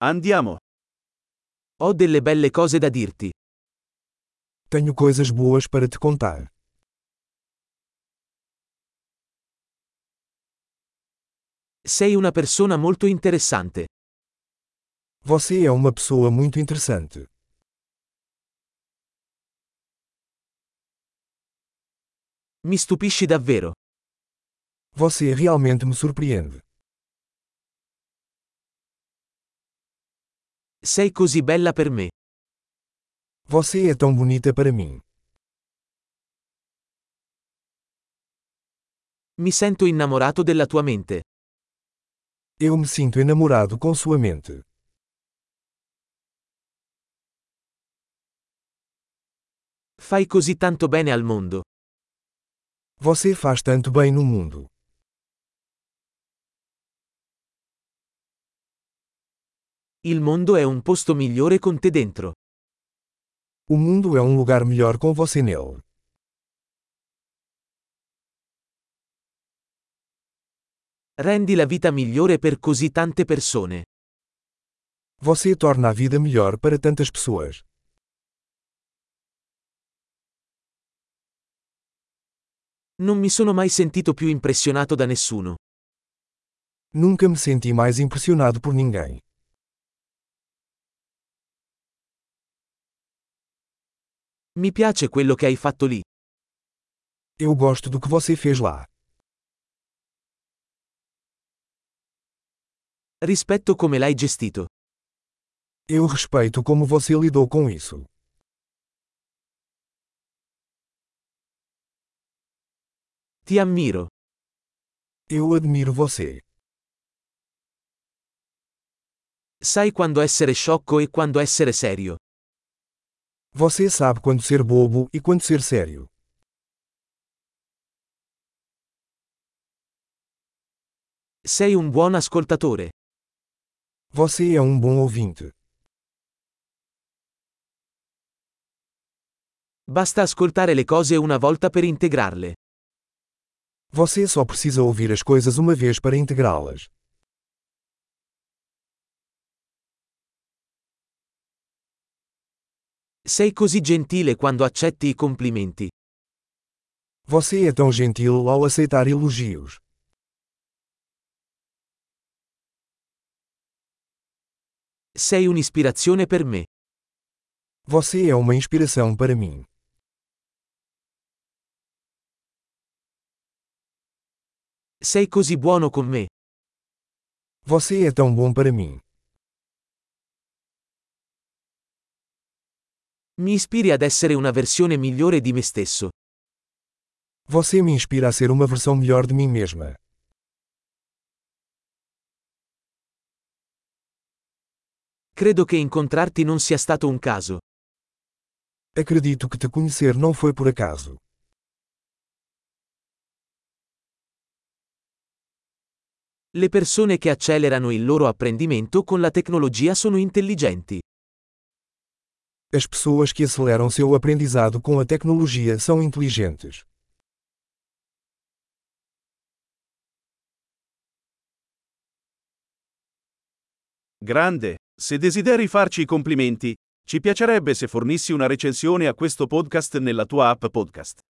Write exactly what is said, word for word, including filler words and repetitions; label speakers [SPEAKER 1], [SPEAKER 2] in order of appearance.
[SPEAKER 1] Andiamo.
[SPEAKER 2] Ho delle belle cose da dirti.
[SPEAKER 3] Tenho coisas boas para te contar.
[SPEAKER 2] Sei una persona molto interessante.
[SPEAKER 3] Você é uma pessoa muito interessante.
[SPEAKER 2] Mi stupisci davvero.
[SPEAKER 3] Você realmente me surpreende.
[SPEAKER 2] Sei così bella per me.
[SPEAKER 3] Você é tão bonita para mim.
[SPEAKER 2] Mi sento innamorato della tua mente.
[SPEAKER 3] Eu me sinto enamorado com sua mente.
[SPEAKER 2] Fai così tanto bene al mondo.
[SPEAKER 3] Você faz tanto bem no mundo.
[SPEAKER 2] Il mondo è un posto migliore con te dentro.
[SPEAKER 3] O mundo é um lugar melhor com você nele.
[SPEAKER 2] Rendi la vita migliore per così tante persone.
[SPEAKER 3] Você torna a vida melhor para tantas pessoas.
[SPEAKER 2] Non mi sono mai sentito più impressionato da nessuno.
[SPEAKER 3] Nunca me senti mais impressionado por ninguém.
[SPEAKER 2] Mi piace quello che hai fatto lì.
[SPEAKER 3] Eu gosto do que você fez lá.
[SPEAKER 2] Rispetto come l'hai gestito.
[SPEAKER 3] Eu respeito como você lidou com isso.
[SPEAKER 2] Ti ammiro.
[SPEAKER 3] Eu admiro você.
[SPEAKER 2] Sai quando essere sciocco e quando essere serio.
[SPEAKER 3] Você sabe quando ser bobo e quando ser sério.
[SPEAKER 2] Sei un buon ascoltatore.
[SPEAKER 3] Você é um bom ouvinte.
[SPEAKER 2] Basta ascoltare le cose una volta per integrarle.
[SPEAKER 3] Você só precisa ouvir as coisas uma vez para integrá-las.
[SPEAKER 2] Sei così gentile quando accetti i complimenti.
[SPEAKER 3] Você é tão gentil ao aceitar elogios.
[SPEAKER 2] Sei un'ispirazione per me.
[SPEAKER 3] Você é uma inspiração para mim.
[SPEAKER 2] Sei così buono con me.
[SPEAKER 3] Você é tão bom para mim.
[SPEAKER 2] Mi ispiri ad essere una versione migliore di me stesso.
[SPEAKER 3] Você me inspira a ser uma versão melhor de mim mesma.
[SPEAKER 2] Credo che incontrarti non sia stato un caso.
[SPEAKER 3] Acredito que te conhecer não foi por acaso.
[SPEAKER 2] Le persone che accelerano il loro apprendimento con la tecnologia sono intelligenti.
[SPEAKER 3] As pessoas que aceleram seu aprendizado com a tecnologia são inteligentes.
[SPEAKER 1] Grande. Se desideri farci i complimenti, ci piacerebbe se fornissi una recensione a questo podcast nella tua app podcast.